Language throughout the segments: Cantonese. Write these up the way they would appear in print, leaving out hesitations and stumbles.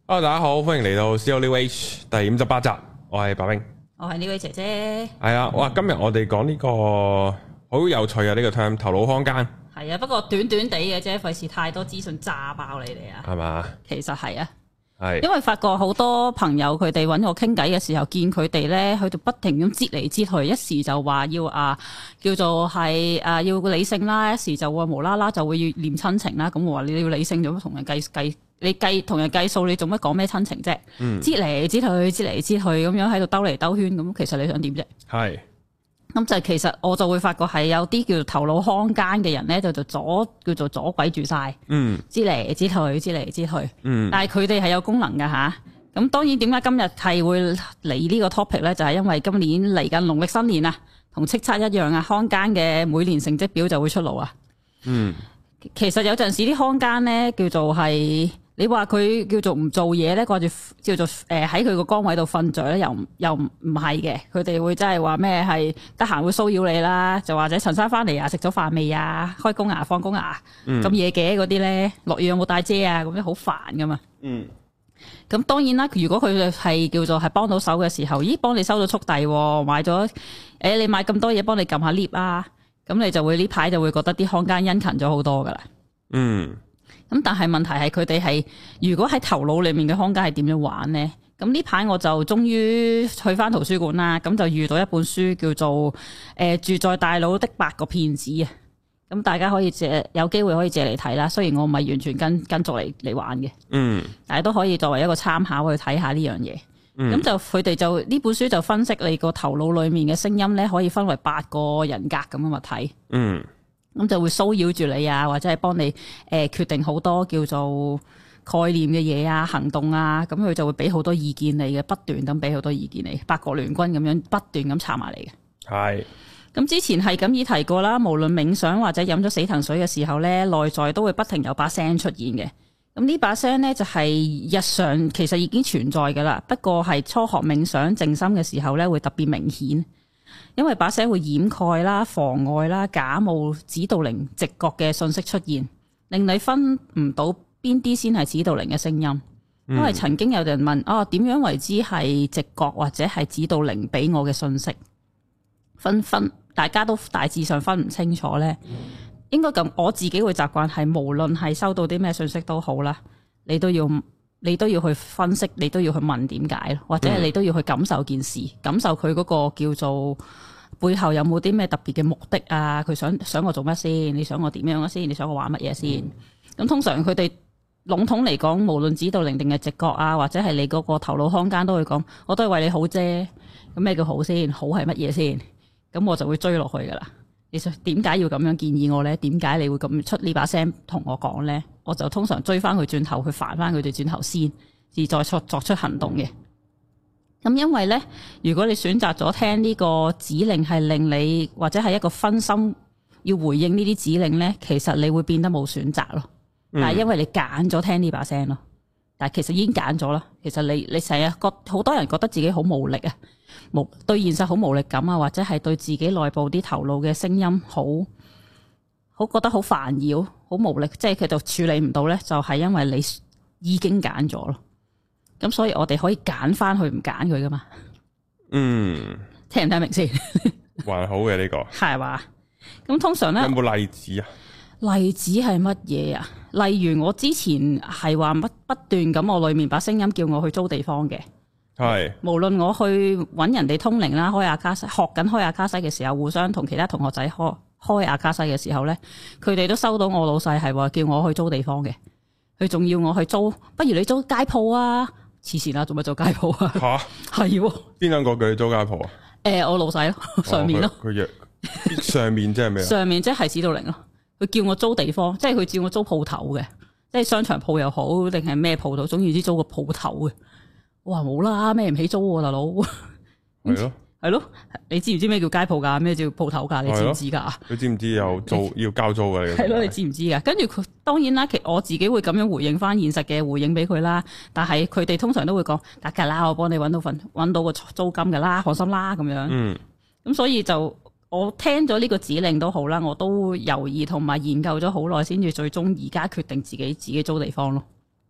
Hello，大家好，歡迎嚟到 CEO New Age 第58集，我係白兵， 我係呢位姐姐。 係啊，哇，今日我哋講呢個好有趣啊，呢個 term 頭腦空間。 係啊，不過短短地嘅啫，費事太多資訊炸爆你哋啊。 係嘛？ 其實係啊， 係， 因為發覺好多朋友佢哋揾我傾偈嘅時候，見佢哋咧，佢就不停咁擠嚟擠去，一時就話要叫做係要理性啦，一時就會無啦啦就會要念親情啦。咁我話你要理性，做乜同人計？你同人計數，你做乜講咩親情啫？擠嚟擠去，擠嚟擠去咁樣喺度兜嚟兜圈，咁其實你想點啫？係。咁就其實我就會發覺係有啲叫做頭腦空間嘅人咧，叫做阻鬼住晒，擠嚟擠去，擠嚟擠去。但係佢哋係有功能㗎吓。咁當然點解今日係會嚟呢個 topic 咧？就係因為今年嚟緊農曆新年啊，同叱咤一樣啊，康間嘅每年成績表就會出爐啊。其實有陣時啲康間咧叫做係。你話佢叫做唔做嘢咧，掛住叫做喺佢個崗位度瞓着咧，又唔係嘅。佢哋會真係話咩係得閒會騷擾你啦，就或者陳生翻嚟啊，食咗飯未啊，開工啊，放工啊，咁夜嘅嗰啲咧，落雨有冇帶遮啊，咁樣好煩噶嘛。咁當然啦，如果佢係叫做係幫到手嘅時候，咦，幫你收咗速遞，買咗你買咁多嘢，幫你撳下 lift 啊，咁你就會呢排就會覺得啲康間殷勤咗好多噶啦。咁但係問題係佢哋係如果喺頭腦裏面嘅空間係點樣玩呢？咁呢排我就終於去翻圖書館啦，咁就遇到一本書叫做住在大腦的8個騙子啊！咁大家可以有機會可以借嚟睇啦。雖然我唔係完全跟足嚟玩嘅，但係都可以作為一個參考去睇下呢樣嘢。咁就佢哋就呢本書就分析你個頭腦裏面嘅聲音咧，可以分為8個人格咁樣去睇。咁就會騷擾住你啊，或者係幫你決定好多叫做概念嘅嘢啊、行動啊，咁佢就會俾好多意見你嘅，不斷咁俾好多意見你，八國聯軍咁樣不斷咁插埋嚟嘅。係。咁之前係咁已提過啦，無論冥想或者飲咗死藤水嘅時候咧，內在都會不停有把聲出現嘅。咁呢把聲咧就係日常其實已經存在㗎啦，不過係初學冥想靜心嘅時候咧會特別明顯。因為把聲會掩蓋啦、妨礙啦、假冒指導靈直覺嘅信息出現，令你分唔到邊啲先係指導靈嘅聲音。因為曾經有人問點樣為之係直覺或者係指導靈俾我嘅信息，大家都大致上分唔清楚呢。應該咁，我自己會習慣係無論係收到啲咩信息都好啦，你都要去分析，你都要去問點解，或者係你都要去感受件事，感受佢嗰個叫做背後有冇啲咩特別嘅目的啊？佢想我做乜先？你想我點樣先？你想我玩乜嘢先？咁通常佢哋籠統嚟講，無論指導靈定係直覺啊，或者係你嗰個頭腦空間都會講，我都係為你好啫。咁咩叫好先？好係乜嘢先？咁我就會追落去噶啦。你想點解要咁樣建議我呢？點解你會咁出呢把聲同我講呢？我就通常追翻佢轉頭，去煩翻佢哋轉頭先，而再作出行動嘅。咁因為呢，如果你選擇咗聽呢個指令係令你或者係一個分心要回應呢啲指令呢，其實你會變得冇選擇咯。但係因為你揀咗聽呢把聲咯，但係其實已經揀咗啦。其實你成日好多人覺得自己好無力啊，對現實好無力感啊，或者係對自己內部啲頭腦嘅聲音好覺得好煩擾、好無力，即係佢就處理唔到呢，就係因為你已經揀咗咯。咁所以我哋可以揀翻去唔揀佢噶嘛。聽唔聽明先？ 還好嘅呢個係嘛？咁通常呢， 有冇例子啊？ 例子係乜嘢啊？例如我之前係話不斷咁，我裏面把聲音叫我去租地方嘅。係，無論我去揾人哋通靈啦，開阿卡西，學緊開阿卡西嘅時候，互相同其他同學仔開阿卡西嘅時候咧，佢哋都收到我老細係話叫我去租地方嘅。佢仲要我去租，不如你租街鋪啊？黐線啦，做乜做街鋪啊？吓，係邊兩個叫你租街鋪啊？我老細咯，上面咯。佢約上面即係咩？上面即係指導靈咯。佢叫我租地方，即係佢叫我租鋪頭嘅，即係商場鋪又好，定係咩鋪頭，總之租個鋪頭嘅。我話冇啦，孭唔起租喎，大佬。係咯，係咯，你知唔知咩叫街鋪噶？咩叫鋪頭噶？你知唔知噶？佢知唔知有租要交租噶？係咯，你知唔知噶？跟住佢當然啦，我自己會咁樣回應翻現實嘅回應俾佢啦。但係佢哋通常都會講得噶啦，我幫你搵到個租金噶啦，放心啦咁樣。咁所以就我聽咗呢個指令都好啦，我都猶豫同埋研究咗好耐，先至最終而家決定自己租地方咯。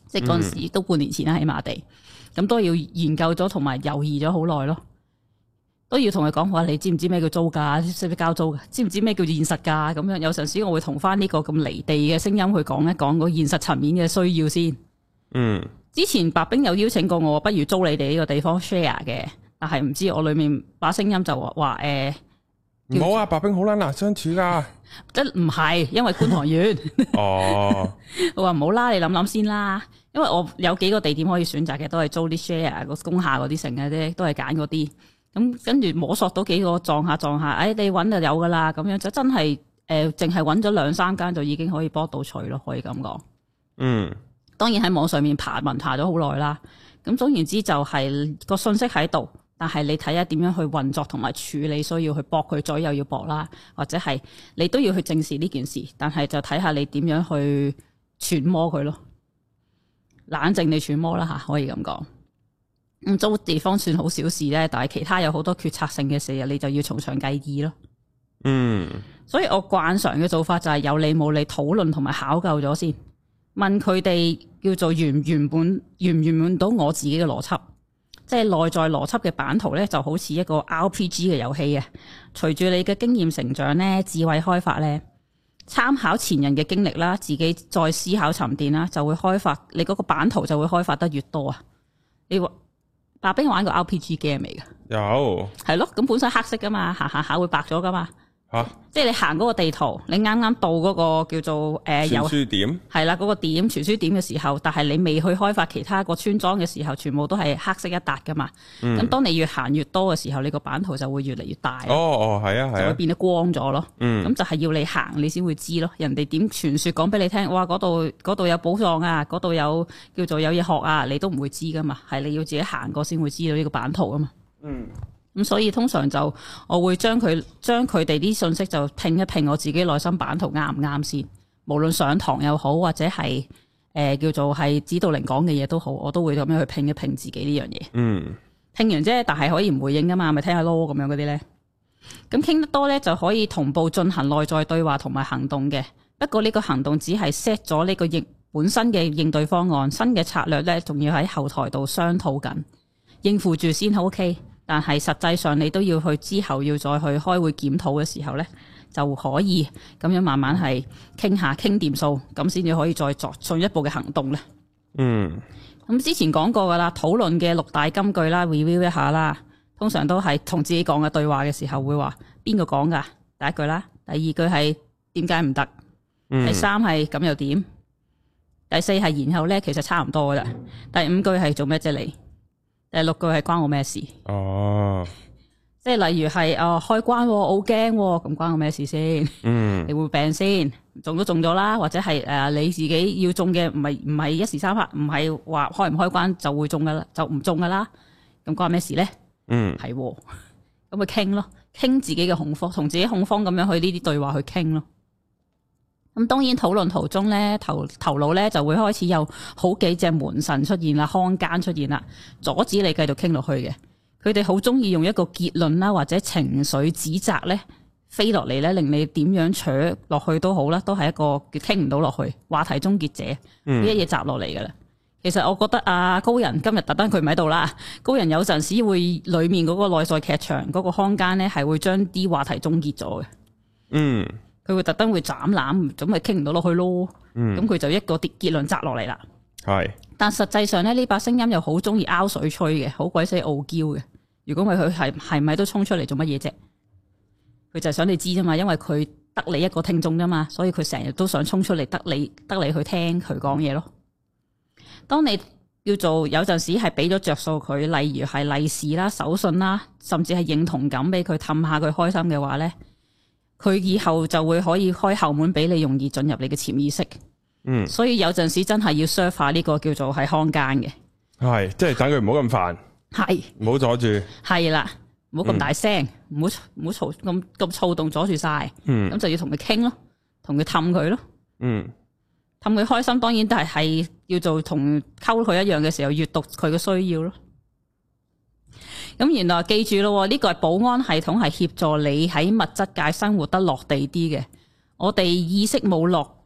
即係嗰陣時都半年前啦，起碼地咁都要研究咗同埋猶豫咗好耐咯，都要同佢講話，你知唔知咩叫租㗎？識唔識交租㗎？知唔知咩叫現實㗎？咁樣有陣時我會同翻呢個咁離地嘅聲音去講一講個現實層面嘅需要先。之前白兵有邀請過我，不如租你哋呢個地方 share 嘅，但係唔知我裏面把聲音就話唔好啊，白兵好難相處噶， 即唔係因為觀塘遠哦， 我話唔好啦，你諗諗先啦，因為我有幾個地點可以選擇嘅，都係租啲 share 個工廈嗰啲成嘅啫，都係揀嗰啲。咁跟住摸索到幾個撞下，你揾就有噶啦，咁樣就真係淨係揾咗2-3間就已經可以幫到取咯，可以咁講。當然喺網上面爬咗好耐啦。咁總言之就係個信息喺度，但係你睇下點樣去運作同埋處理，需要去駁佢嘴又要駁啦，或者係你都要去正視呢件事，但係就睇下你點樣去揣摩佢咯，冷靜地揣摩啦吓，可以咁講。租地方算好小事咧，但係其他有好多決策性嘅事，你就要從長計議咯。所以我慣常嘅做法就係有理冇理討論同埋考究咗先，問佢哋叫做圓唔圓滿到我自己嘅邏輯，即係內在邏輯嘅版圖咧，就好似一個 RPG 嘅遊戲啊。隨住你嘅經驗成長咧，智慧開發咧，參考前人嘅經歷啦，自己再思考沉澱啦，就會開發你嗰個版圖就會開發得越多啊。你話白兵玩過 RPG game 嚟㗎？有，係咯，咁本身黑色噶嘛，行下會白咗噶嘛。即係你行嗰個地圖，你啱啱到嗰個叫做傳輸點，係啦，嗰個點傳輸點嘅時候，但係你未去開發其他個村莊嘅時候，全部都係黑色一笪噶嘛。咁當你越行越多嘅時候，你個版圖就會越嚟越大。係啊，就會變得光咗咯。咁就係要你行，你先會知咯。人哋點傳說講俾你聽，哇，嗰度有寶藏啊，嗰度有叫做有嘢學啊，你都唔會知噶嘛。係你要自己行過先會知道呢個版圖啊嘛。咁所以通常就我會將佢哋啲信息就拼一拼我自己內心版圖啱唔啱先，無論上堂又好或者係叫做係指導靈講嘅嘢都好，我都會咁樣去拼一拼自己呢樣嘢。拼完啫，但係可以唔回應噶嘛，咪聽下咯咁樣嗰啲咧。咁傾得多咧就可以同步進行內在對話同埋行動嘅。不過呢個行動只係 set 咗呢個本身嘅應對方案，新嘅策略咧仲要喺後台度商討緊，應付住先 OK。但係實際上你都要去之後要再去開會檢討嘅時候咧，就可以咁樣慢慢係傾掂數，咁先至可以再作進一步嘅行動咧。咁之前講過噶啦，討論嘅6大金句啦 ，review 一下啦。通常都係同自己講嘅對話嘅時候會話邊個講噶？第一句啦，第二句係點解唔得？第三係咁又點？第四係然後咧，其實差唔多噶啦。第5句係做咩啫你？第6句係關我咩事？即係例如係開關，我好驚，咁關我咩事先？你會病先？中都中咗啦，或者係你自己要中嘅，唔係一時三刻，唔係話開唔開關就會中噶啦，就唔中噶啦。咁關咩事咧？係咁咪傾咯，傾自己嘅恐慌，同自己恐慌咁樣去呢啲對話去傾咯。咁當然討論途中咧，頭腦咧就會開始有好幾隻門神出現啦，康奸出現啦，阻止你繼續傾落去嘅。佢哋好中意用一個結論啦，或者情緒指責咧飛落嚟咧，令你點樣扯落去都好啦，都係一個傾唔到落去話題終結者，呢一嘢砸落嚟噶啦。其實我覺得高人今日特登佢唔喺度啦，高人有陣時會裏面嗰個內在劇場嗰個康奸咧係會將啲話題終結咗嘅。佢會特登會斬纜，咁咪傾唔到落去咯。咁佢就一個結論砸落嚟啦。但實際上咧，呢把聲音又好中意拗水吹嘅，好鬼死傲嬌嘅。如果佢係咪都衝出嚟做乜嘢啫？佢就係想你知啫嘛，因為佢得你一個聽眾啫嘛，所以佢成日都想衝出嚟得你去聽佢講嘢咯。當你叫做有陣時係俾咗着數佢，例如係利是啦、手信啦，甚至係認同感俾佢氹下佢開心嘅話咧，佢以後就會可以開後門俾你，容易進入你嘅潛意識。所以有陣時真係要 serve 下呢個叫做係康奸嘅，係即係等佢唔好咁煩， 係唔好阻住，係啦，唔好咁大聲，唔好嘈咁躁動阻住晒，咁就要同佢傾咯，同佢氹佢咯，氹佢開心，當然都係要做同溝佢一樣嘅時候，閱讀佢嘅需要咯。咁原來記住咯，呢個係保安系統，係協助你喺物質界生活得落地啲嘅。我哋意識冇落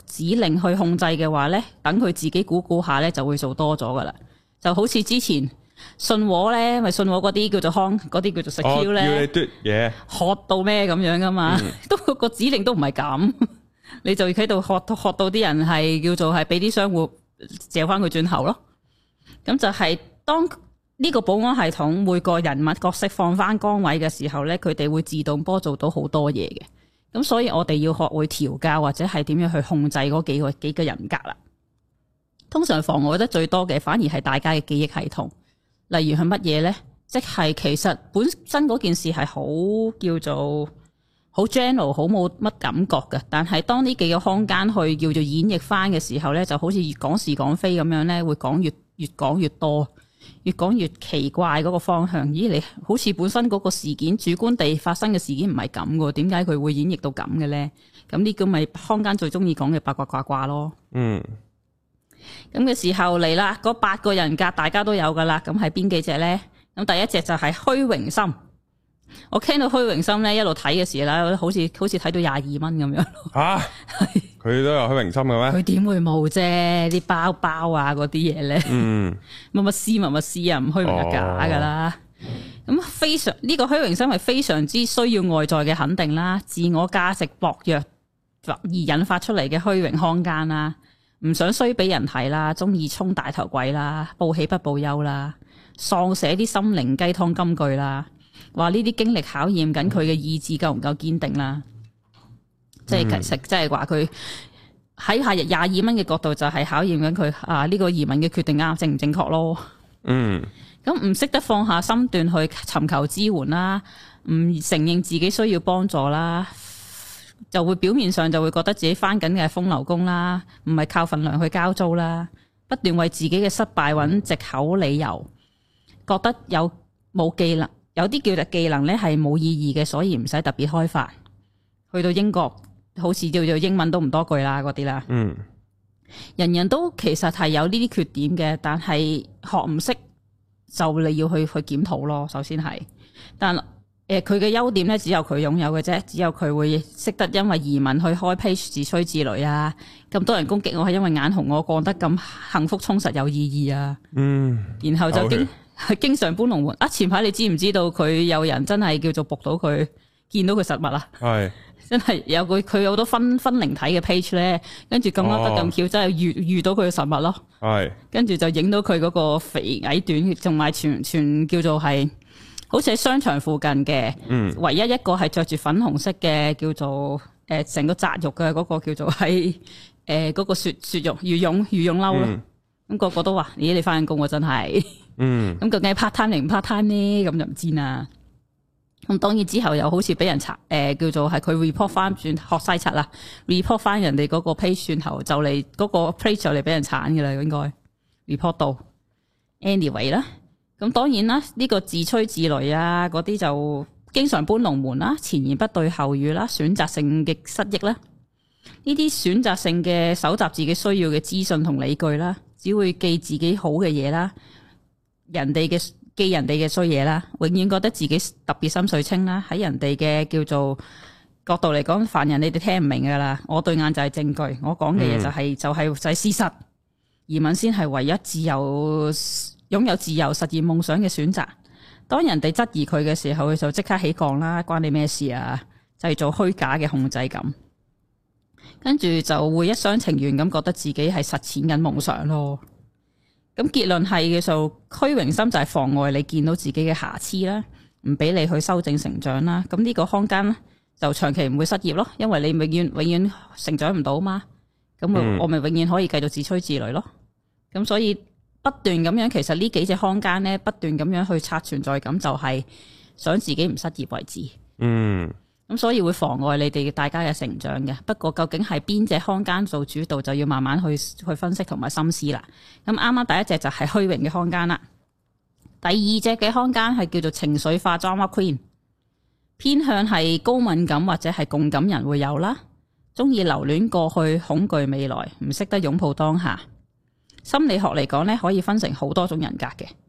指令去控制嘅話咧，等佢自己估下咧就會做多咗噶啦。就好似之前信和咧，咪信和嗰啲叫做嗰啲叫做 secure 咧， 要你嘟嘢， 學到咩咁樣噶嘛？都個指令都唔係咁，你就喺度學到啲人係叫做係俾啲商戶借翻佢轉頭咯。咁就係當呢個保安系統每個人物角色放翻崗位嘅時候咧，佢哋會自動波做到好多嘢嘅。咁所以我哋要學會調教或者係點樣去控制嗰幾個人格啦。通常妨礙得最多嘅反而係大家嘅記憶系統，例如係乜嘢呢？即係其實本身嗰件事係好叫做好 general， 好冇乜感覺嘅。但係當呢幾個空間去叫做演繹翻嘅時候呢，就好似越講是講非咁樣呢，會講越講越多。越講越奇怪嗰個方向，咦？你好似本身嗰個事件主觀地發生嘅事件唔係咁嘅，點解佢會演繹到咁嘅咧？咁呢個咪坊間最中意講嘅八卦卦卦咯。嗯，咁嘅時候嚟啦，嗰8個人格大家都有噶啦，咁係邊幾隻咧？咁第一隻就係虛榮心。我聽到虛榮心咧，一路睇嘅時候啦，好似睇到22蚊咁樣。吓， 佢都有虛榮心嘅咩？ 佢點會冇啫？啲包啊嗰啲嘢咧，乜乜絲啊，唔虛榮就假噶啦。咁非常呢個虛榮心係非常之需要外在嘅肯定啦，自我價值薄弱而引發出嚟嘅虛榮空間啦，唔想衰俾人睇啦，中意充大頭鬼啦，報喜不報憂啦，喪寫啲心靈雞湯金句啦。話呢啲經歷考驗緊佢嘅意志夠唔夠堅定啦，即係其實即係話佢喺下日22蚊嘅角度就係考驗緊佢呢個移民嘅決定正唔正確咯。咁唔識得放下身段去尋求支援啦，唔承認自己需要幫助啦，就會表面上就會覺得自己返緊嘅係風流工啦，唔係靠份糧去交租啦，不斷為自己嘅失敗揾藉口理由，覺得冇技能。有啲叫做技能咧係冇意義嘅，所以唔使特別開發。去到英國，好似叫做英文都唔多句啦，嗰啲啦。人人都其實係有呢啲缺點嘅，但係學唔識就你要去檢討咯。首先係，但佢嘅優點咧只有佢擁有嘅啫，只有佢會識得因為移民去開 page 自吹自擂啊！咁多人攻擊我係因為眼紅我過得咁幸福充實有意義啊！然後就經常搬龍門啊！前排你知唔知道佢有人真係叫做捕到佢，見到佢實物啊？係真係有佢有好多分靈體嘅 page 咧，跟住咁啱得咁巧，真係遇到佢嘅實物咯。係跟住就影到佢嗰個肥矮短，同埋全叫做係好似喺商場附近嘅，唯一一個係着住粉紅色嘅叫做成個紮肉嘅嗰個叫做係嗰個雪肉羽絨褸咯。咁個個都話：咦，你翻緊工喎，真係。咁究竟係 part time 定唔 part time 呢？咁就唔知啦。咁當然之後又好似俾人查，叫做係佢 report 翻轉學西七啦 ，report 翻人哋嗰個 page 轉頭就嚟嗰個 page 就嚟俾人鏟嘅啦，應該 report 到。anyway 啦，咁當然啦，呢個自吹自擂啊，嗰啲就經常搬龍門啦，前言不對後語啦，選擇性嘅失憶啦，呢啲選擇性嘅搜集自己需要嘅資訊同理據啦。只會記自己好嘅嘢啦，記人哋嘅衰嘢啦，永遠覺得自己特別心水清啦。喺人哋嘅叫做角度嚟講，凡人你哋聽唔明噶啦。我對眼就係證據，我講嘅嘢就係事實。移民先係唯一擁有自由實現夢想嘅選擇。當人哋質疑佢嘅時候，佢就即刻起降啦，關你咩事啊？製造虛假嘅控制感。跟住就會一廂情願咁覺得自己係實踐緊夢想咯。咁結論係嘅時候，虛榮心就係妨礙你見到自己嘅瑕疵啦，唔俾你去修正成長啦。咁呢個空間就長期唔會失業咯，因為你永遠成長唔到嘛。咁我咪永遠可以繼續自吹自擂咯。咁所以不斷咁樣，其實呢幾隻空間咧，不斷咁樣去刷存在感，就係想自己唔失業為止。咁所以會妨礙你哋大家嘅成長嘅。不過究竟係邊隻空間做主導，就要慢慢去分析同埋深思啦。咁啱啱第一隻就係虛榮嘅空間啦。第二隻嘅空間係叫做情緒化 drama queen， 偏向係高敏感或者係共感人會有啦。中意留戀過去，恐懼未來，唔識得擁抱當下。心理學嚟講咧，可以分成好多種人格嘅。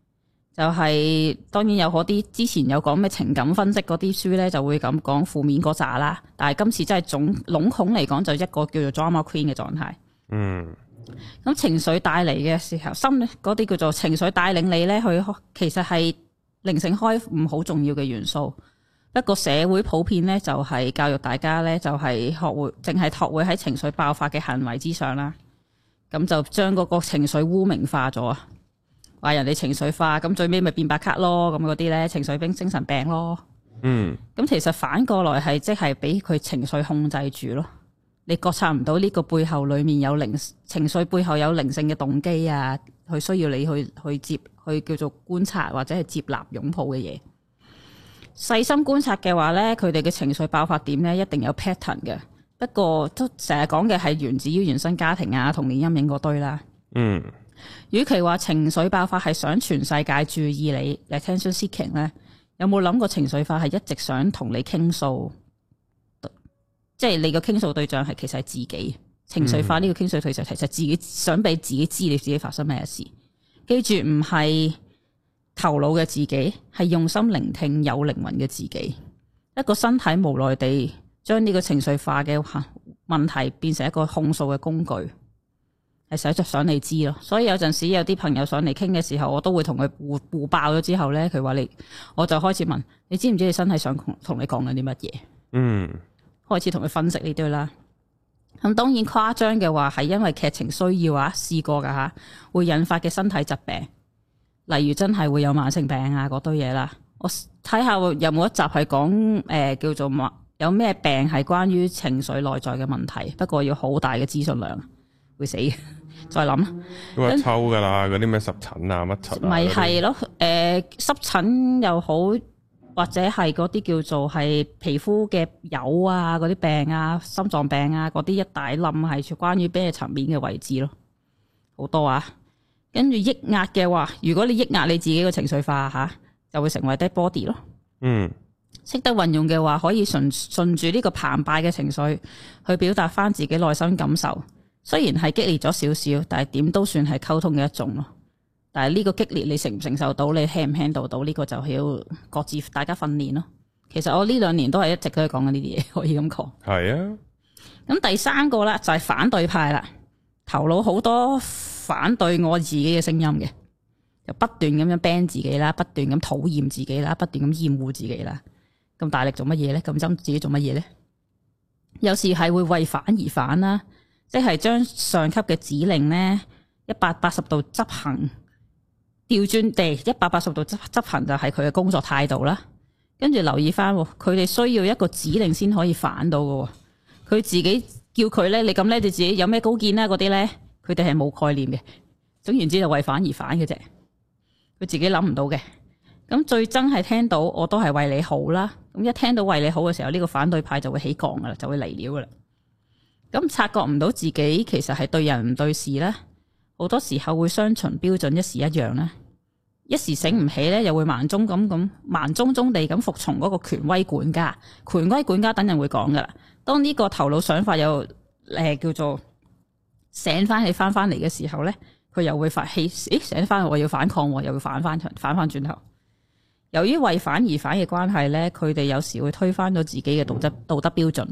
就係、當然有嗰啲之前有講咩情感分析嗰啲書咧，就會咁講負面嗰扎啦。但係今次真係籠統嚟講，就一個叫做 drama queen 嘅狀態。咁情緒帶嚟嘅時候，心嗰啲叫做情緒帶領你咧，佢其實係靈性開悟好重要嘅元素。不過社會普遍咧就係教育大家咧就係學會淨係學會喺情緒爆發嘅行為之上啦，咁就將嗰個情緒污名化咗啊，話人哋情緒化，咁最尾咪變白卡咯，咁嗰啲咧情緒病、精神病咯。咁其實反過來係即係俾佢情緒控制住咯，你覺察唔到呢個背後裏面有情緒背後有靈性嘅動機啊，佢需要你去叫做觀察或者係接納擁抱嘅嘢。細心觀察嘅話咧，佢哋嘅情緒爆發點咧一定有 pattern 嘅。不過都成日講嘅係源自於原生家庭啊、童年陰影嗰堆啦。與其話情緒爆發係想全世界注意你 attention seeking 咧，有冇諗過情緒化係一直想同你傾訴？即係你個傾訴對象係其實係自己。情緒化呢個傾訴對象其實自己想俾自己知你自己發生咩事。記住唔係頭腦嘅自己，係用心聆聽有靈魂嘅自己。一個身體無奈地將呢個情緒化嘅問題變成一個控訴嘅工具，係實質想你知咯。所以有陣時有啲朋友上嚟傾嘅時候，我都會同佢互爆咗之後咧，佢話我就開始問你知唔知你身體想同你講緊啲乜嘢？開始同佢分析呢堆啦。咁當然誇張嘅話係因為劇情需要啊，試過噶吓，會引發嘅身體疾病。例如真係會有慢性病啊嗰堆嘢啦，我睇下有冇一集係講叫做有咩病係關於情緒內在嘅問題，不過要好大嘅資訊量，會死嘅。再諗都話抽噶啦，嗰啲咩濕疹啊乜疹咪係咯，濕疹又好，或者係嗰啲叫做係皮膚嘅疣啊嗰啲病啊，心臟病啊嗰啲一大冧係關於咩層面嘅位置咯，好多啊。跟住抑壓嘅話，如果你抑壓你自己嘅情緒化吓，就會成為 dead body 咯。識得運用嘅話，可以順住呢個澎湃嘅情緒去表達翻自己內心感受。雖然係激烈咗少少，但係點都算係溝通嘅一種咯。但係呢個激烈你承唔承受到，你 handle 唔 handle 到呢個就要各自大家訓練咯。其實我呢2年都係一直都係講緊呢啲嘢，可以咁講。係啊。咁第3個啦就係反對派啦，頭腦好多反對我自己嘅聲音嘅，就不斷咁樣 ban 自己啦，不斷咁討厭自己啦，不斷咁厭惡自己啦。咁大力做乜嘢咧？咁憎自己做乜嘢咧？有時係會為反而反啦，即係將上級嘅指令咧180度執行，調轉地180度執行就係佢嘅工作態度啦。跟住留意翻，佢哋需要一個指令先可以反到嘅。佢自己叫佢咧，你咁咧，你自己有咩高見啦？嗰啲咧。佢哋係冇概念嘅，總言之就為反而反嘅啫。佢自己諗唔到嘅。咁最憎係聽到我都係為你好啦。咁一聽到為你好嘅時候，呢個反對派就會起槓噶啦，就會嚟料噶啦。咁察覺唔到自己其實係對人唔對事啦。好多時候會雙重標準一時一樣啦。一時醒唔起咧，又會盲中地咁服從嗰個權威管家。權威管家等人會講噶啦。當呢個頭腦想法又叫做醒翻起翻嚟嘅時候咧，佢又會發氣，醒翻我要反抗，又會反翻轉頭。由於為反而反嘅關係咧，佢哋有時會推翻咗自己嘅道德標準。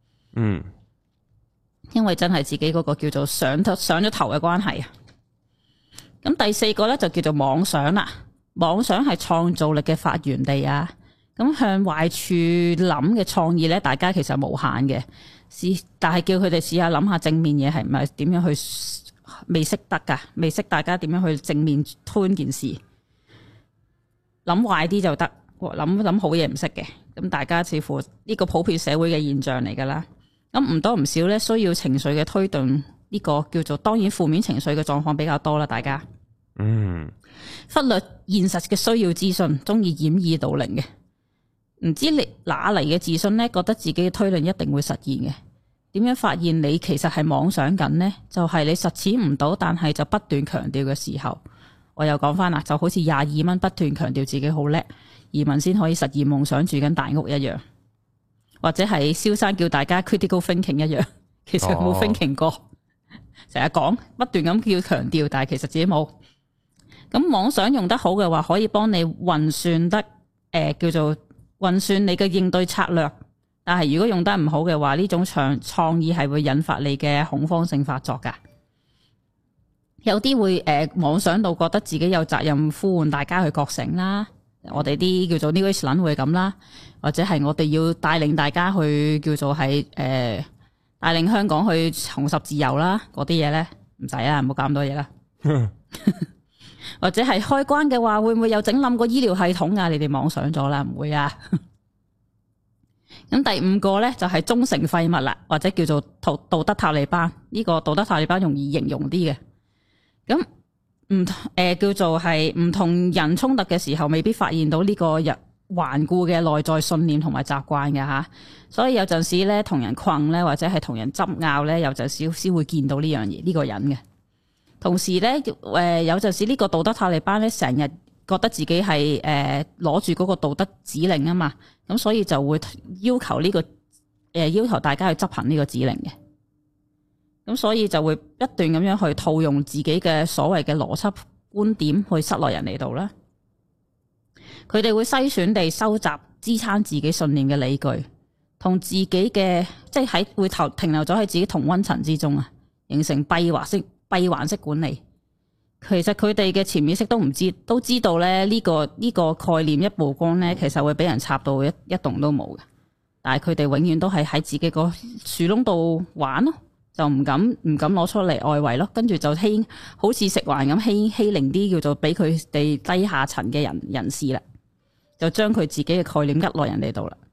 因為真係自己嗰個叫做上咗頭嘅關係啊。咁第4個咧就叫做妄想啦。妄想係創造力嘅發源地啊。咁向壞處諗嘅創意咧，大家其實無限嘅。但係叫佢哋試下諗下正面嘢係唔係點樣去，未識得噶，未識大家點樣去正面推件事，諗壞啲就得，諗好嘢唔識嘅。咁大家似乎呢個普遍社會嘅現象嚟噶啦。咁唔多唔少咧，需要情緒嘅推動，呢個叫做當然負面情緒嘅狀況比較多啦。大家忽略現實嘅需要資訊，中意掩耳盜鈴嘅。唔知你哪嚟嘅自信呢？覺得自己嘅推論一定會實現嘅。點樣發現你其實係妄想緊呢？就係你實踐唔到，但係就不斷強調嘅時候，我又講翻啦，就好似22蚊不斷強調自己好叻，移民先可以實現夢想住緊大屋一樣，或者係蕭生叫大家 critical thinking 一樣，其實冇 thinking 過，成日講不斷咁叫強調，但係其實自己冇。 咁妄想用得好嘅話，可以幫你運算得叫做運算你嘅應對策略。但係如果用得唔好嘅話，呢種創意係會引發你嘅恐慌性發作噶。有啲會妄想到覺得自己有責任呼喚大家去覺醒啦。我哋啲叫做 New Age 撚會咁啦，或者係我哋要帶領大家去叫做係帶領香港去重拾自由啦。嗰啲嘢咧唔使啦，唔好搞咁多嘢啦。或者係開關嘅話，會唔會有整冧個醫療系統啊？你哋妄想咗啦，唔會啊。咁第五個咧就係忠誠廢物啦，或者叫做道德塔利班。呢個道德塔利班容易形容啲嘅。咁叫做係唔同人衝突嘅時候，未必發現到呢個頑固嘅內在信念同埋習慣嘅吓。所以有陣時咧同人困咧，或者係同人執拗咧，有陣時先會見到呢樣嘢呢個人嘅。同時咧有陣時呢個道德塔利班咧成日覺得自己係攞住嗰個道德指令啊嘛，咁所以就會要求要求大家去執行呢個指令嘅。咁所以就會不斷咁樣去套用自己嘅所謂嘅邏輯觀點去塞落人哋度啦。佢哋會篩選地收集支撐自己信念嘅理據，同自己嘅即係會停留咗喺自己同溫層之中啊，形成閉環式管理。其實佢哋嘅潛意識都知道咧呢個概念一曝光咧，其實會俾人插到一動都冇嘅。但係佢哋永遠都係喺自己個樹窿度玩咯。就唔敢攞出嚟外圍咯，跟住就好似食環咁欺凌啲叫做俾佢哋低下層嘅人士啦，就將佢自己嘅概念呃落人哋度啦。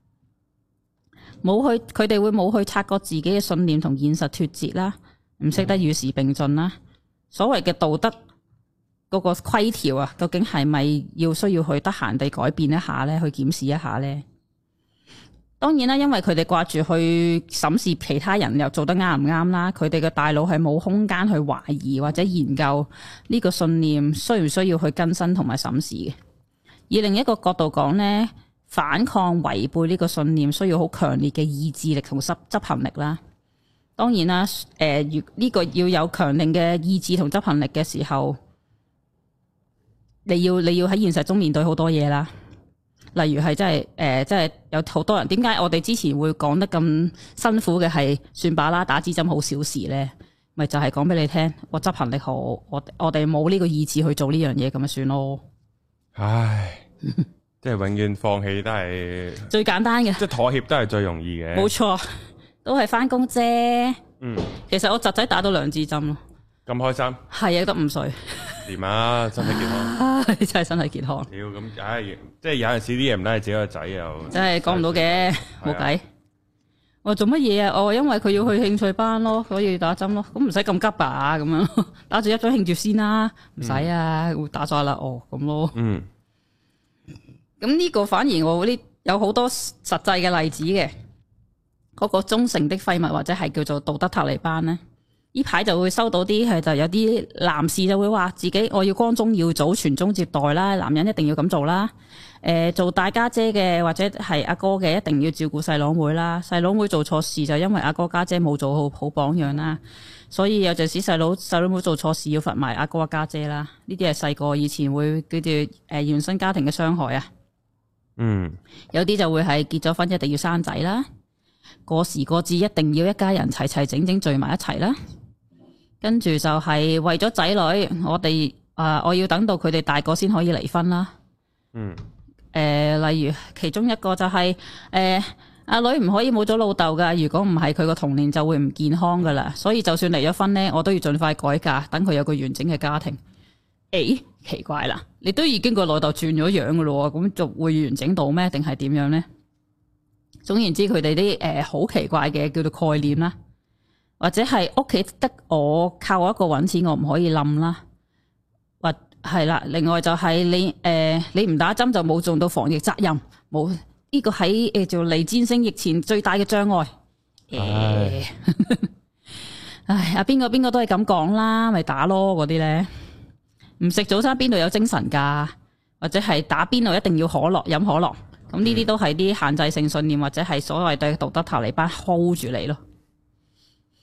佢哋會冇去察覺自己嘅信念同現實脫節啦，唔識得與時並進啦。所謂嘅道德嗰個規條啊，究竟係咪需要去得閒地改變一下咧？去檢視一下咧？當然啦，因為佢哋掛住去審視其他人又做得啱唔啱啦，佢哋嘅大腦係冇空間去懷疑或者研究呢個信念需唔需要去更新同埋審視嘅。以另一個角度講呢，反抗違背呢個信念需要好強烈嘅意志力同執行力啦。當然啦，呢個要有強力嘅意志同執行力嘅時候，你要喺現實中面對好多嘢啦。例如係真係有好多人，點解我哋之前會講得咁辛苦嘅係算罷啦，打支針好小事咧，咪就係講俾你聽，我執行力好，我哋冇呢個意志去做呢樣嘢，咁咪算咯。唉， 即係永遠放棄都係最簡單嘅， 即係妥協都係最容易嘅。冇錯，都係翻工啫。其實我侄仔打到2支針咯。咁開心？係啊，得5歲。 掂啊，身體健康。 你真係身體健康。 屌咁，即係有陣時啲嘢唔得，係自己個仔又真係講唔到嘅，冇計。我做乜嘢啊？因為佢要去興趣班咯，所以打針咯。咁唔使咁急吧？咁樣打住一針慶住先啦，唔使啊，會打咗啦。咁咯。咁呢個反而我有好多實際嘅例子嘅。嗰個忠誠的廢物或者係叫做道德塔利班咧。呢排就會收到啲就有啲男士就會話自己我要光宗耀祖傳宗接代啦，男人一定要咁做啦。做大家姐嘅或者係阿哥嘅一定要照顧細佬妹啦，細佬妹做錯事就因為阿哥家姐冇做好榜樣啦，所以有陣時細佬妹做錯事要罰埋阿哥家姐啦。呢啲係細個以前會叫做原生家庭嘅傷害啊。有啲就會係結咗婚一定要生仔啦，過時過節一定要一家人齊整聚埋一齊啦。跟住就係為咗仔女，我要等到佢哋大個先可以離婚啦。例如其中一個就係阿女唔可以冇咗老豆噶，如果唔係佢個童年就會唔健康噶啦。所以就算離咗婚呢，我都要盡快改嫁，等佢有個完整嘅家庭。奇怪啦，你都已經個老豆轉咗樣噶咯，咁就會完整到咩？定係點樣呢？總言之，佢哋啲好奇怪嘅叫做概念啦。或者係屋企得我靠我一個搵錢，我唔可以冧啦。或係啦，另外就係你唔打針就冇盡到防疫責任，冇呢個喺做嚟戰勝疫情最大嘅障礙。阿邊個都係咁講啦，咪打咯嗰啲咧。唔食早餐邊度有精神噶？或者係打邊爐一定要可樂飲可樂，咁呢啲都係啲限制性信念或者係所謂對道德塔利班 hold 住你咯。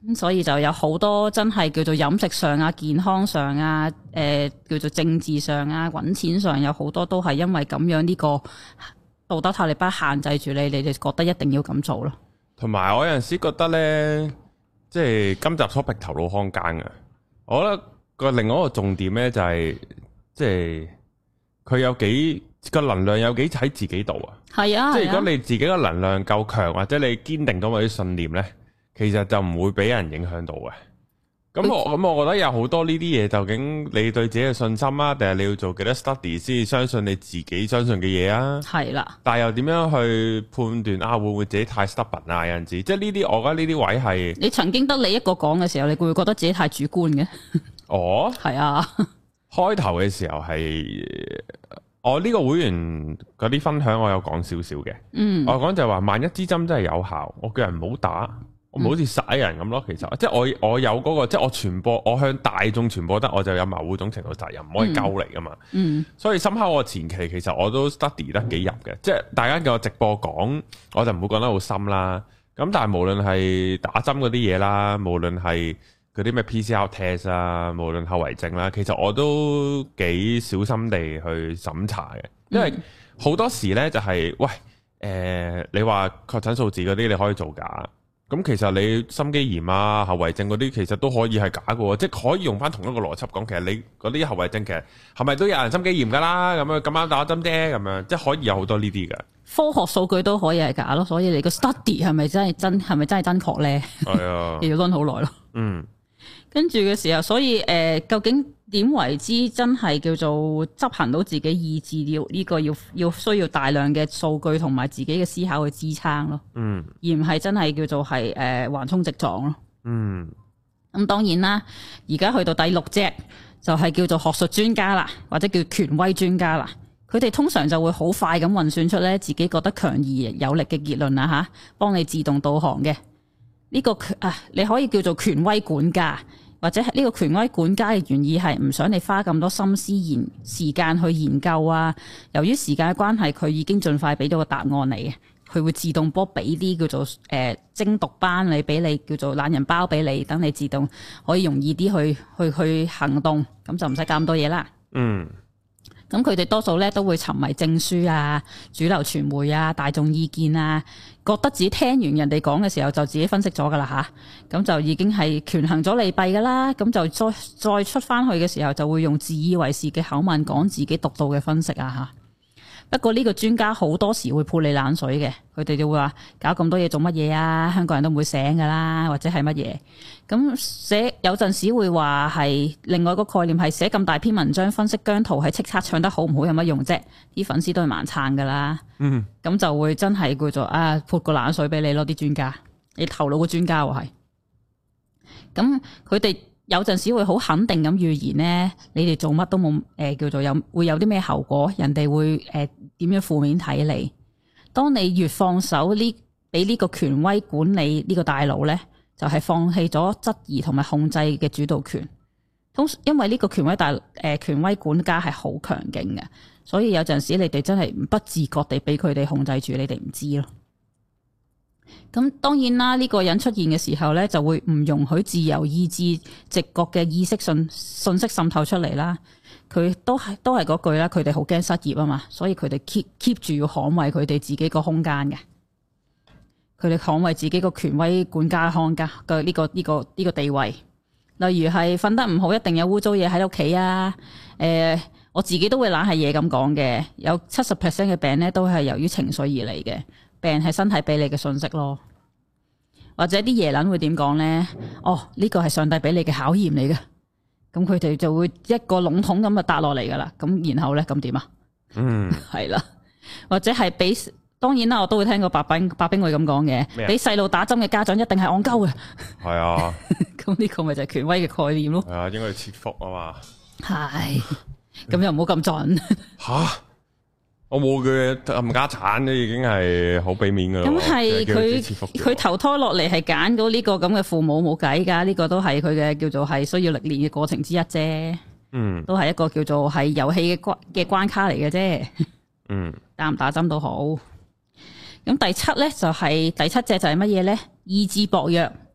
所以就有好多真係叫做飲食上啊、健康上啊、叫做政治上啊、揾錢上有好多都係因為咁樣呢個道德塔利班限制住你哋覺得一定要咁做咯。 同埋我有陣時覺得咧，即係今集所逼頭腦空間嘅，我覺得個另外一個重點咧就係，即係佢有幾個能量有幾喺自己度啊。係啊，即係如果你自己個能量夠強，或者你堅定到某啲信念咧，其實就唔會俾人影響到嘅。咁我覺得有好多呢啲嘢，究竟你對自己嘅信心啊，定係你要做幾多 study 先相信你自己相信嘅嘢啊？係啦。但係又點樣去判斷啊？會唔會自己太 stubborn 啊？有陣時，即係呢啲，我覺得呢啲位係你曾經得你一個講嘅時候，你會唔會覺得自己太主觀嘅？哦，係啊。開頭嘅時候係我呢個會員嗰啲分享，我有講少少嘅。我講就係話，萬一支針真係有效，我叫人唔好打。我唔好似殺人咁咯，其實即係我有嗰個，即係我傳播，我向大眾傳播得，我就有某種程度責任，唔可以鳩嚟噶嘛。所以深刻我前期其實我都 study 得幾入嘅，即係大家叫我直播講，我就唔會講得好深啦。咁但係無論係打針嗰啲嘢啦，無論係嗰啲咩 PCR test 啊，無論後遺症啦，其實我都幾小心地去審查嘅，因為好多時呢就係喂你話確診數字嗰啲你可以做假。咁其實你心肌炎啊、後遺症嗰啲，其實都可以係假嘅，即係可以用翻同一個邏輯講。其實你嗰啲後遺症，其實係咪都有人心肌炎噶啦？咁樣咁啱打針啫，咁樣即係可以有好多呢啲嘅。科學數據都可以係假咯，所以你個 study 係咪真係真確咧？係啊，要論好耐咯。跟住嘅時候，所以究竟點為之真係叫做執行到自己意志？呢個要需要大量嘅數據同埋自己嘅思考去支撐咯。而唔係真係叫做係橫衝直撞咯。咁當然啦，而家去到第六隻就係叫做學術專家啦，或者叫權威專家啦。佢哋通常就會好快咁運算出咧自己覺得強而有力嘅結論啦吓，幫你自動導航嘅。呢個你可以叫做權威管家。或者係呢個權威管家嘅原意係唔想你花咁多心思時間去研究啊。由於時間嘅關係，佢已經盡快俾到個答案你嘅，佢會自動波俾啲叫做精讀班你，俾你叫做懶人包俾你，等你自動可以容易啲去行動，咁就唔使咁多嘢啦。咁佢哋多數咧都會沉迷證書啊、主流傳媒啊、大眾意見啊，覺得自己聽完人哋講嘅時候就自己分析咗噶啦吓，咁就已經係權衡咗利弊噶啦，咁就再出翻去嘅時候就會用自以為是嘅口吻講自己獨到嘅分析啊吓。不過呢個專家好多時會潑你冷水嘅，佢哋就會話搞咁多嘢做乜嘢啊？香港人都唔會醒噶啦，或者係乜嘢？咁寫有陣時會話係另外一個概念係寫咁大篇文章分析姜濤喺叱咤唱得好唔好有乜用啫？啲粉絲都係盲撐噶啦。咁就會真係叫做潑個冷水俾你咯，啲專家，你頭腦嘅專家喎係。咁佢哋有陣時會好肯定咁預言呢，你哋做乜都冇叫做會有啲咩後果，人哋會點樣負面睇你。當你越放手俾呢個權威管理呢個大腦呢，就係放棄咗質疑同埋控制嘅主導權。因為呢個權威管家係好強勁嘅，所以有陣時你哋真係不自覺地俾佢哋控制住，你哋唔知咯。咁當然啦，呢個人出現嘅時候呢，就會唔容許自由意志、直覺嘅意識信息滲透出嚟啦。佢都係嗰句啦，佢哋好驚失業啊嘛，所以佢哋 keep 住要捍衛佢哋自己個空間嘅。佢哋捍衛自己個權威管家嘅呢個地位。例如係瞓得唔好，一定有污糟嘢喺屋企啊。我自己都會懶係嘢咁講嘅，有 70% 嘅病呢，都係由於情緒而嚟嘅。病係身體俾你嘅信息咯，或者啲耶撚會點講呢？呢個係上帝俾你嘅考驗嚟嘅，咁佢哋就會一個籠統咁就答落嚟噶啦。咁然後呢，咁點啊？係啦，或者係俾，當然啦，我都會聽過白兵會咁講嘅，俾細路打針嘅家長一定係戇鳩嘅。係啊，咁呢個咪就係權威嘅概念咯。係啊，應該要切腹啊嘛。係，咁又唔好咁盡。吓？我冇佢冚家產都已經係好俾面噶啦。咁係佢投胎落嚟係揀到呢個咁嘅父母冇計噶，呢個都係佢嘅叫做係需要歷練嘅過程之一啫。都係一個叫做係遊戲嘅關卡嚟嘅啫。打唔打針都好。咁第七咧就係第七隻就係乜嘢咧？意志薄弱。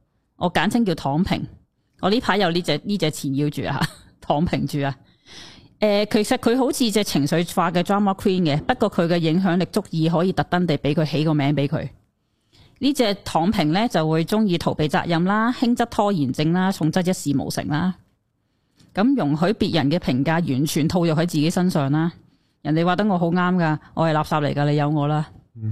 我簡稱叫躺平。我呢排有呢隻纏繞住啊，躺平住啊。其實佢好似隻情緒化嘅 drama queen 嘅，不過佢嘅影響力足以可以特登地俾佢起個名俾佢。呢隻躺平咧就會中意逃避責任啦，輕則拖延症啦，重則一事無成啦。咁容許別人嘅評價完全套入喺自己身上啦。人哋話得我好啱噶，我係垃圾嚟噶，你有我啦。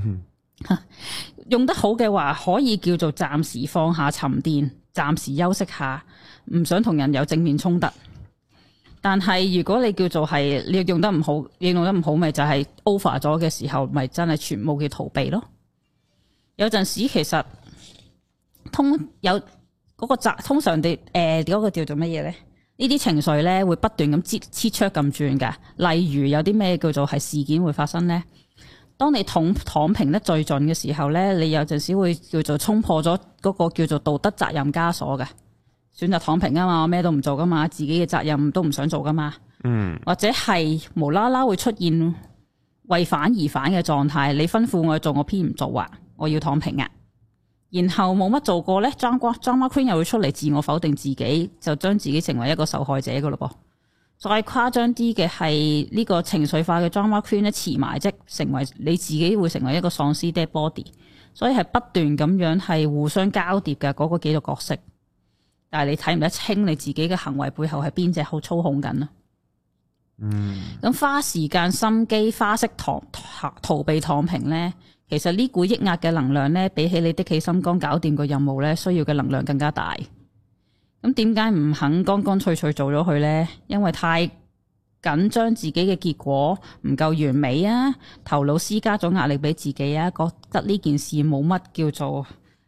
用得好嘅話，可以叫做暫時放下沉澱，暫時休息下，唔想同人有正面衝突。但係如果你叫做係你用得唔好，你用得唔好，咪就係 over 咗嘅時候，咪真係全部叫逃避咯。有陣時其實通常地嗰個叫做乜嘢咧？呢啲情緒咧會不斷咁切出咁轉噶。例如有啲咩叫做係事件會發生咧？當你躺平得最盡嘅時候咧，你有陣時會叫做衝破咗嗰個叫做道德責任枷鎖嘅。選擇躺平啊嘛，我咩都唔做噶嘛，自己嘅責任都唔想做噶嘛。或者係無啦啦會出現為反而反嘅狀態，你吩咐我做，我偏唔做啊，我要躺平啊。然後冇乜做過咧，drama queen 又會出嚟自我否定自己，就將自己成為一個受害者噶咯噃。再誇張啲嘅係呢個情緒化嘅 drama queen 咧，辭埋職，成為你自己會成為一個喪屍 dead body，所以係不斷咁樣係互相交疊嘅嗰個幾個角色。但係你睇唔得清你自己嘅行為背後係邊隻好操控緊啊？咁花時間心機花式逃避躺平咧，其實呢股抑壓嘅能量咧，比起你的起心肝搞掂個任務咧，需要嘅能量更加大。咁點解唔肯乾乾脆脆做咗佢咧？因為太緊張自己嘅結果唔夠完美啊，頭腦施加咗壓力俾自己啊，覺得呢件事冇乜叫做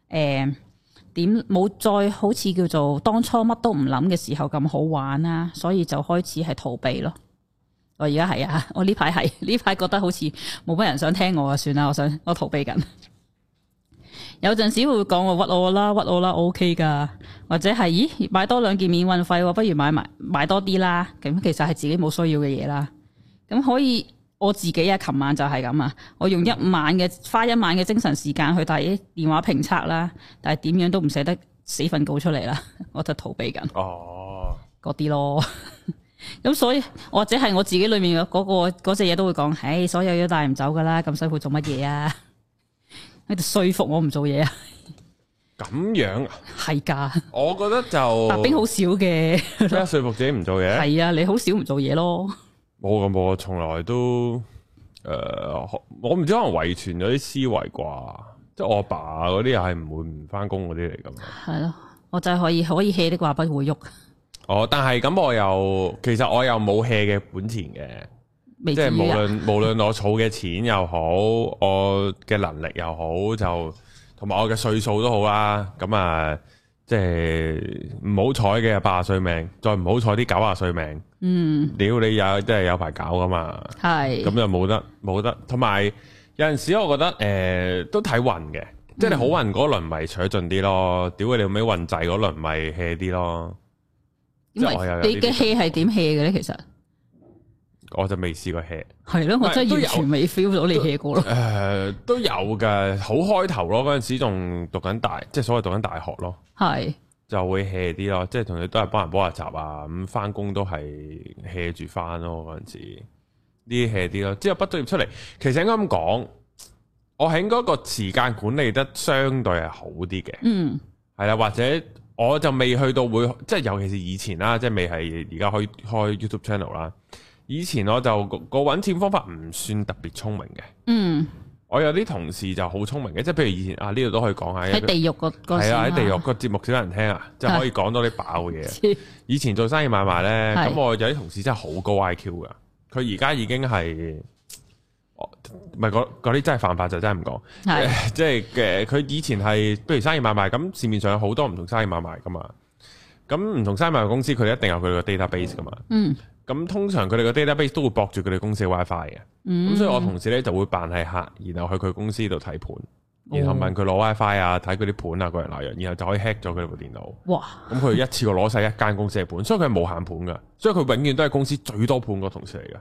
冇再好似叫做當初乜都唔諗嘅時候咁好玩啊，所以就開始係逃避咯。我而家係啊，我呢排覺得好似冇乜人想聽我啊，算啦，我逃避緊。有陣時會講我屈我啦，我 OK 噶，或者係咦買多2件免運費，不如買多啲啦。咁其實係自己冇需要嘅嘢啦。咁可以我自己啊，琴晚就係咁啊，我用花一晚嘅精神時間去睇電話評測啦，但係點樣都唔捨得死份稿出嚟啦，我就逃避緊。哦，嗰啲咯。咁所以或者係我自己裏面嘅嗰隻嘢都會講，唉，所有嘢都帶唔走噶啦，咁辛苦做乜嘢啊？喺度說服我唔做嘢啊？ 咁樣啊？ 係噶， 我覺得就白兵好少嘅， 咩說服自己唔做嘢？ 係啊，你好少唔做嘢咯。 冇咁，我從來都我唔知可能遺傳咗啲思維啩，即係我阿爸嗰啲又係唔會唔翻工嗰啲嚟噶嘛。係咯， 我就係可以 hea 的話不會喐。 哦，但係咁其實我又冇 hea 嘅本錢嘅，即係無論我儲嘅錢又好，我嘅能力又好，就同埋我嘅歲數都好啦。咁啊，即係唔好彩嘅80歲命，再唔好彩啲90歲命。屌你即係有排搞噶嘛？係咁就冇得。同埋有陣時我覺得都睇運嘅，即係你好運嗰輪咪取盡啲咯，屌你尾運滯嗰輪咪 hea 啲咯。 因為你嘅 hea 係點 hea 嘅咧？其實我就未試過 hea。係咯，我真係完全未 feel 到你 hea 過咯。 都有嘅，好開頭咯，嗰陣時仲讀緊即係所謂讀緊大學咯。係就會 hea 啲咯，即係同你都係幫人補下習啊，咁翻工都係 hea 住翻咯。嗰陣時呢啲 hea 啲咯。之後畢咗業出嚟，其實應該咁講，我喺嗰個時間管理得相對係好啲嘅。係啦，或者。我就未去到會，即係尤其是以前啦，即係未係而家開 YouTube channel 啦。以前我就個揾錢方法唔算特別聰明嘅。我有啲同事就好聰明嘅，即係譬如以前呢度都可以講下喺地獄個係啊，喺地獄個節目少人聽啊，即係可以講多啲爆嘅嘢。以前做生意買賣咧，咁我有啲同事真係好高 IQ 噶，佢而家已經係。唔係嗰啲真係犯法就真係唔講，即係佢以前係，譬如生意買賣咁，市面上有好多唔同生意買賣噶嘛，咁唔同生意買賣公司佢哋一定有佢個 database 噶嘛，咁通常佢哋個 database 都會駁住佢哋公司嘅 WiFi 嘅，咁所以我同事咧就會扮係客，然後去佢公司度睇盤，然後問佢攞 WiFi 啊，睇佢啲盤啊，個人那樣，然後就可以 hack 咗佢哋部電腦。哇！咁佢一次過攞晒一間公司嘅盤，所以佢係無限盤噶，所以佢永遠都係公司最多盤個同事嚟噶。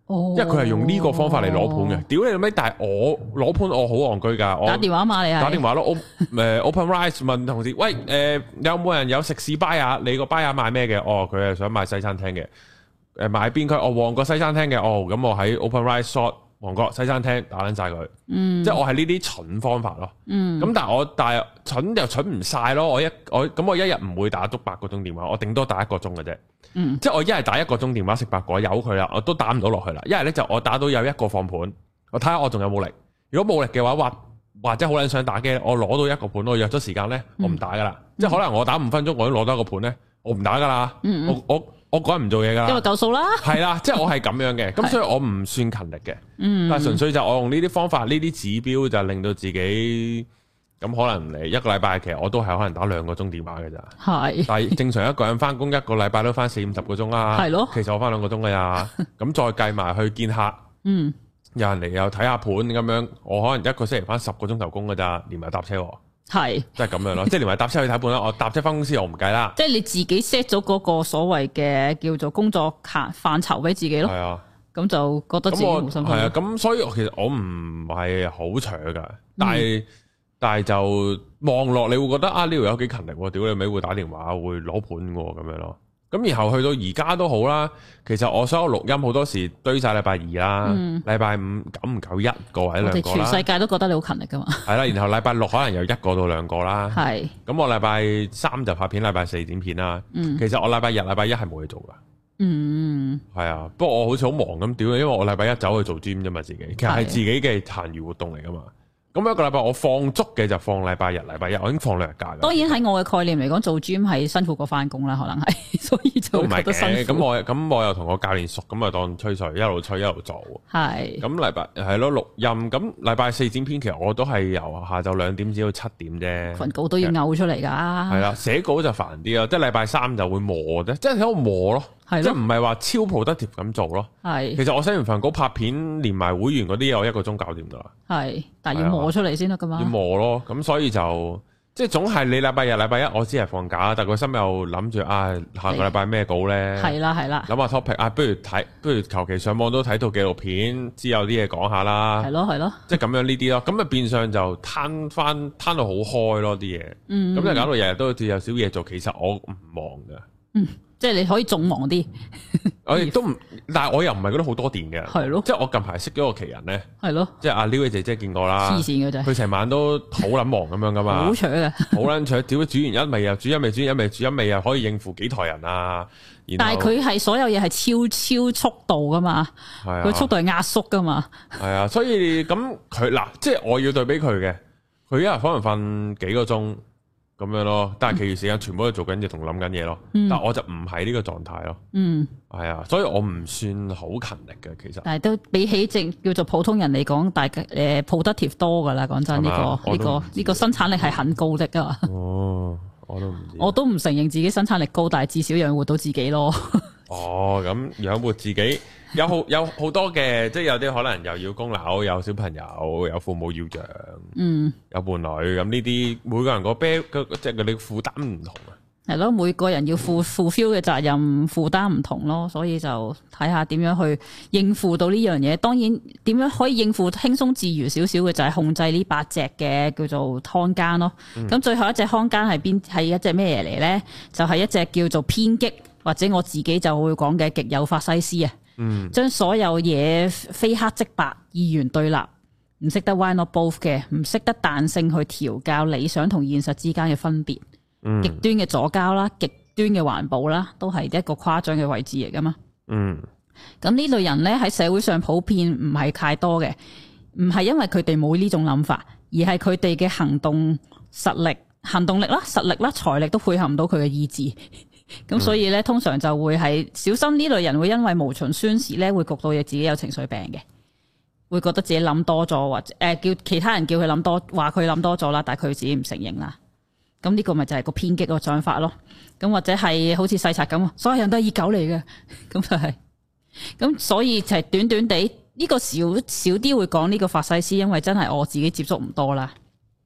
因為佢係用呢個方法嚟攞盤嘅。屌你老味，但係我攞盤我好戇居噶，我打電話嘛你係打電話咯，OpenRice 問同事，喂有冇人有食肆 buyer？你個 buyer 賣咩嘅？佢係想賣西餐廳嘅，買邊區？旺角西餐廳嘅，咁我喺 OpenRice short 旺角西餐廳打撚晒佢，即係我係呢啲蠢方法咯。咁但係蠢又蠢唔晒咯。我一日唔會打足8個鐘電話，我頂多打1個鐘嘅啫。即係我一係打1個鐘電話食白果，由佢啦，我都打唔到落去啦。一係咧就我打到有1個放盤，我睇下我仲有冇力。如果冇力嘅話，或者好撚想打機，我攞到1個盤，我約咗時間咧，我唔打噶啦。即係可能我打5分鐘，我已經攞到1個盤咧，我唔打噶啦。我嗰日唔做嘢噶啦， 因為夠數啦。係啦，即係我係咁樣嘅，咁所以我唔算勤力嘅。但係純粹就我用呢啲方法，呢啲指標就令到自己咁可能嚟1個禮拜，其實我都係可能打2個鐘電話嘅咋。係，但係正常一個人翻工1個禮拜都翻40-50個鐘啦。係咯，其實我翻2個鐘噶呀。咁再計埋去見客，有人嚟又睇下盤咁樣，我可能1個星期翻10個鐘頭工噶咋，連埋搭車。係，即係咁樣咯，即係連埋搭車去睇盤啦。我搭車翻公司我唔計啦。即係你自己 set 咗嗰個所謂嘅叫做工作範疇俾自己咯。係啊，咁就覺得自己好辛苦。係啊，咁所以其實我唔係好長噶，但係就望落你會覺得呢條友幾勤力，屌你尾會打電話會攞盤咁樣咯。咁然後去到而家都好啦，其實我所有錄音好多時堆晒禮拜2啦，禮拜5久唔久1個或者2個啦。我哋全世界都覺得你好勤力噶嘛。係啦，然後禮拜6可能有1個到2個啦。係。咁我禮拜3就拍片，禮拜4剪片啦。其實我禮拜日、禮拜1係冇嘢做噶。係啊，不過我好似好忙咁屌，因為我禮拜1走去做 gym 啫嘛，自己其實係自己嘅閒餘活動嚟噶嘛。咁1個禮拜我放足嘅就放禮拜日、禮拜1，我已經放2日假。當然喺我嘅概念嚟講，做 gym 係辛苦過翻工啦，可能係，所以就覺得辛苦。咁我又同我教練熟，咁啊當吹水，一路吹一路做。係。咁禮拜係咯錄音，咁禮拜4剪片，其實我都係由下晝2點至到7點啫。份稿都要嘔出嚟噶。係啦，寫稿就煩啲咯，即係禮拜3就會磨啫，即係喺度磨咯。即係唔係話超 productive 咁做咯。係。其實我寫完份稿拍片，連埋會員嗰啲嘢，我1個鐘搞掂噶啦。係，但係要磨出嚟先得噶嘛。要磨咯，咁所以就即係總係你禮拜日、禮拜1我只係放假，但係個心又諗住下個禮拜咩稿咧？係啦係啦。諗下 topic 不如求其上網都睇套紀錄片，知有啲嘢講下啦。係咯係咯。即係咁樣呢啲咯，咁啊變相就攤到好開咯啲嘢。咁就搞到日日都好似有少嘢做，其實我唔忙噶。即係你可以仲忙啲，我亦都唔，但係我又唔係覺得好多電嘅，係咯。即係我近排識咗個奇人咧，係咯，即係阿 Liu 姐姐見過啦，黐線嘅啫，佢成晚都好撚忙咁樣噶嘛，好長嘅，好撚長，屌煮完一味又煮一味，煮一味煮一味又可以應付幾台人啊。但係佢係所有嘢係超速度噶嘛，佢速度係壓縮噶嘛，係啊，所以咁佢嗱，即係我要對比佢嘅，佢一日可能瞓幾個鐘。咁樣咯，但係其餘時間全部都做緊嘢同諗緊嘢咯。但係我就唔係呢個狀態咯。係啊，所以我唔算好勤力嘅其實。但係都比起叫做普通人嚟講，大家productive多噶啦。講真，呢個生產力係很高的噶嘛。哦，我都唔承認自己生產力高，但係至少養活到自己咯。哦，咁養活自己有好多嘅，即係有啲可能又要供樓，有小朋友，有父母要養，有伴侶，咁呢啲每個人即係佢哋負擔唔同啊。係咯，每個人要fulfill嘅責任負擔唔同咯，所以就睇下點樣去應付到呢樣嘢。當然，點樣可以應付輕鬆自如少少嘅就係控制呢8隻嘅叫做看更咯。咁最後一隻看更係一隻咩嘢嚟咧？就係一隻叫做偏激。或者我自己就會講嘅極有法西斯啊，將所有嘢非黑即白、二元對立，唔識得 why not both 嘅，唔識得彈性去調教理想同現實之間嘅分別，極端嘅左膠啦，極端嘅環保啦，都係一個誇張嘅位置嚟噶嘛。咁呢類人咧喺社會上普遍唔係太多嘅，唔係因為佢哋冇呢種諗法，而係佢哋嘅行動力啦、實力啦、財力都配合唔到佢嘅意志。咁所以咧，通常就會係小心呢類人會因為無循宣泄咧，會焗到嘢自己有情緒病嘅，會覺得自己諗多咗，或者叫其他人叫佢諗多，話佢諗多咗啦，但係佢自己唔承認啦。咁呢個咪就係個偏激個想法咯。咁或者係好似細賊咁，所有人都係熱狗嚟嘅，咁就係。咁所以就係短短地呢個少啲會講呢個法西斯，因為真係我自己接觸唔多啦。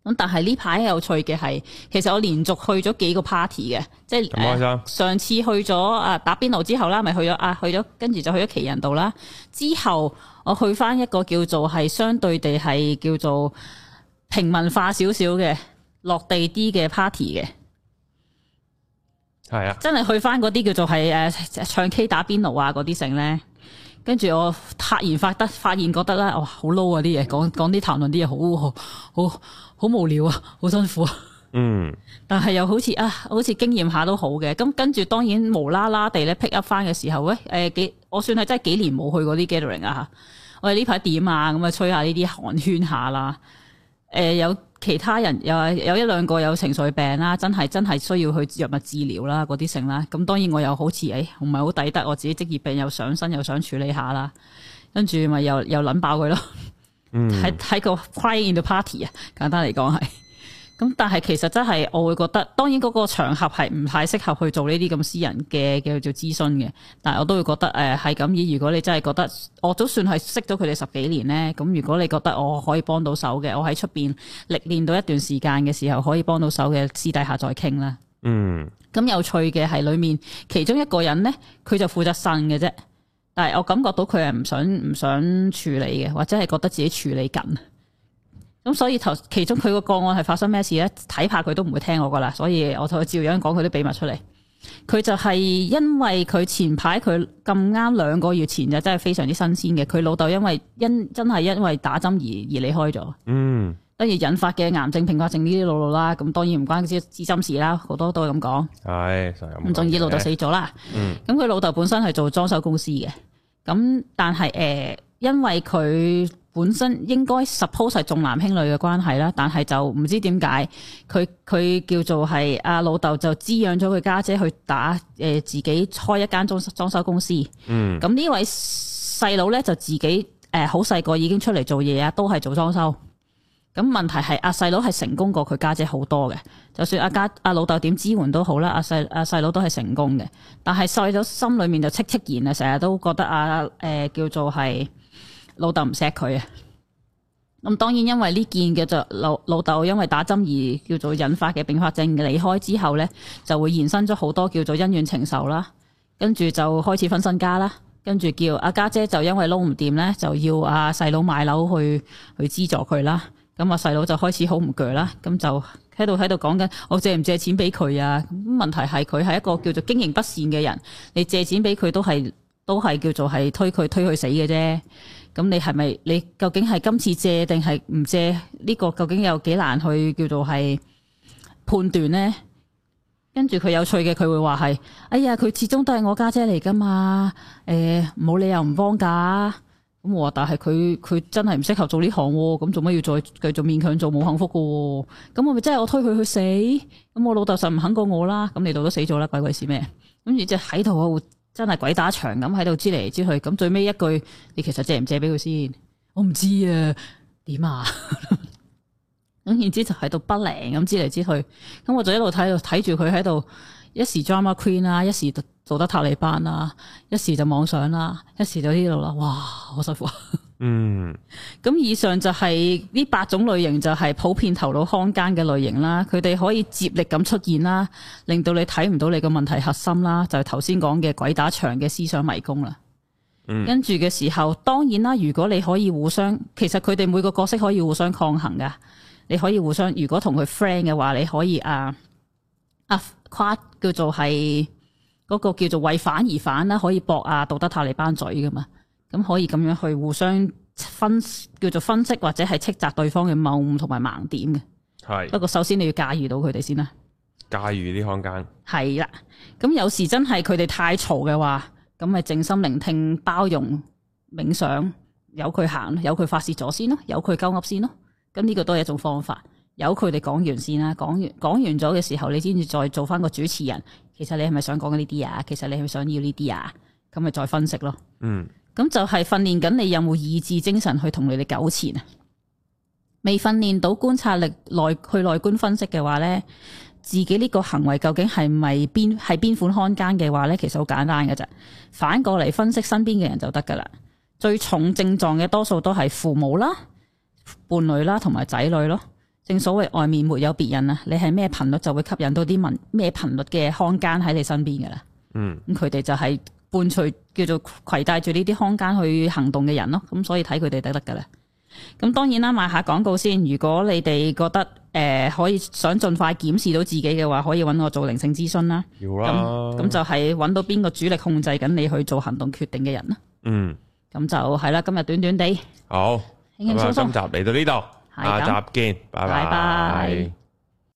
咁但係呢排有趣嘅係，其實我連續去咗幾個 party 嘅，即係上次去咗打邊爐之後啦，咪去咗跟住就去咗奇人道啦。之後我去翻一個叫做係相對地係叫做平民化少少嘅落地啲嘅 party 嘅， 係啊，真係去翻嗰啲叫做係唱 K 打邊爐啊嗰啲成咧。跟住我突然發現覺得咧，哇好 low 啊啲嘢，講啲談論啲嘢好無聊啊，好辛苦啊。嗯。但係又好似經驗下都好嘅。咁跟住當然無啦啦地咧 pick up 翻嘅時候咧，我算係真係幾年冇去過啲 gathering 啊嚇。我哋呢排點啊？咁啊吹下呢啲寒暄下啦。有其他人有一兩個有情緒病啦，真係需要去藥物治療啦，嗰啲性啦。咁當然我又好似唔係好抵得，我自己職業病又上身，又想處理下啦。跟住咪又撚爆佢咯。喺個 crying in the party 啊，簡單嚟講係。咁但係其實真係我會覺得，當然嗰個場合係唔太適合去做呢啲咁私人嘅叫做諮詢嘅。但係我都會覺得係咁。如果你真係覺得我都算係識咗佢哋10幾年咧，咁如果你覺得我可以幫到手嘅，我喺出邊歷練到一段時間嘅時候可以幫到手嘅，私底下再傾啦。咁有趣嘅係裏面其中一個人咧，佢就負責呻嘅啫。但係我感覺到佢係唔想處理嘅，或者係覺得自己處理緊。咁所以其中佢個案係發生咩事咧？睇怕佢都唔會聽我噶啦，所以我同佢照樣講佢啲秘密出嚟。佢就係因為佢前排佢咁啱2個月前就真係非常之新鮮嘅，佢老豆真係因為打針而離開咗。跟住引發嘅癌症、併發症呢啲路啦，咁當然唔關支針事啦，好多都係咁講。係咁總之老豆死咗啦。咁佢老豆本身係做裝修公司嘅，咁但係因為佢本身應該 suppose 係重男輕女嘅關係啦，但係就唔知點解佢叫做係阿老豆就滋養咗佢家姐去打自己開一間裝修公司。咁呢位細佬咧就自己好細個已經出嚟做嘢啊，都係做裝修。咁問題係阿細佬係成功過佢家姐好多嘅，就算阿老豆點支援都好啦，阿細佬都係成功嘅。但係細佬心裏面就戚然啊，成日都覺得叫做係老豆唔錫佢啊。咁當然因為呢件嘅就老豆因為打針而叫做引發嘅併發症離開之後咧，就會延伸咗好多叫做恩怨情仇啦。跟住就開始分身家啦，跟住叫阿家姐就因為撈唔掂咧，就要阿細佬買樓去資助佢啦。咁啊細佬就開始好唔鋸啦，咁就喺度講緊我借唔借錢俾佢啊？咁問題係佢係一個叫做經營不善嘅人，你借錢俾佢都係叫做係推佢死嘅啫。咁你係咪你究竟係今次借定係唔借？呢個究竟有幾難去叫做係判斷呢？跟住佢有趣嘅，佢會話係哎呀，佢始終都係我家姐嚟噶嘛，冇理由唔幫噶。咁我話，但係佢真係唔適合做呢行，咁做乜要再繼續勉強做冇幸福噶？咁我咪真係我推佢去死？咁我老豆實唔肯過我啦，咁你老豆都死咗啦，鬼事咩？咁而即係喺度真係鬼打牆咁喺度支嚟支去，咁最尾一句，你其實借唔借俾佢先？我唔知啊，點啊？咁然之就喺度不靈咁支嚟支去，咁我就一路睇住佢喺度，一時 drama queen 啦，一時道德塔利班啦，一時就妄想啦，一時就呢度啦，哇，好辛苦啊！咁以上就係呢8種類型，就係普遍頭腦康奸嘅類型啦。佢哋可以接力咁出現啦，令到你睇唔到你個問題核心啦，就係頭先講嘅鬼打牆嘅思想迷宮啦。跟住嘅時候，當然啦，如果你可以互相，其實佢哋每個角色可以互相抗衡噶。你可以互相，如果同佢 friend 嘅話，你可以跨叫做係嗰個叫做為反而反啦，可以駁道德塔利班嘴噶嘛，咁可以咁樣去互相叫做分析或者係斥責對方嘅謬誤同埋盲點嘅。係，不過首先你要駕馭到佢哋先啦。駕馭啲康奸係啦，咁有時真係佢哋太嘈嘅話，咁咪靜心聆聽、包容、冥想，由佢行，由佢發泄咗先咯，由佢鳩噏先咯。咁呢個都係一種方法。由佢哋講完先啦，講完咗嘅時候，你先至再做翻個主持人。其實你係咪想講呢啲啊？其實你係咪想要呢啲啊？咁咪再分析咯。咁就係訓練緊你有冇意志精神去同你哋糾纏啊？未訓練到觀察力內觀分析嘅話咧，自己呢個行為究竟係咪邊款康奸嘅話咧，其實好簡單嘅啫。反過嚟分析身邊嘅人就得噶啦。最重症狀嘅多數都係父母啦、伴侶啦同埋仔女咯。 正所謂外面沒有別人啊，你係咩頻率就會吸引到啲咩頻率嘅康奸喺你身邊噶啦。咁佢哋就係伴隨叫做攜帶住呢啲康奸去行動嘅人咯。咁所以睇佢哋得噶啦。咁當然啦，賣下廣告先。如果你哋覺得可以想盡快檢視到自己嘅話，可以揾我做靈性諮詢啦。 要啦。 咁就係揾到邊個主力控制緊你去做行動決定嘅人啦。咁就係啦。今日短短地， 好， 輕輕鬆鬆。 今集嚟到呢度，下集見，拜拜。